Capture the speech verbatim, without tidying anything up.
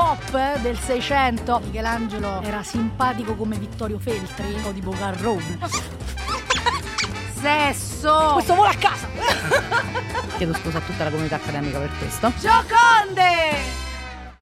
pop del Seicento. Michelangelo era simpatico come Vittorio Feltri o tipo Garrone. Sesso. Questo vola a casa. Chiedo scusa a tutta la comunità accademica per questo. Gioconde.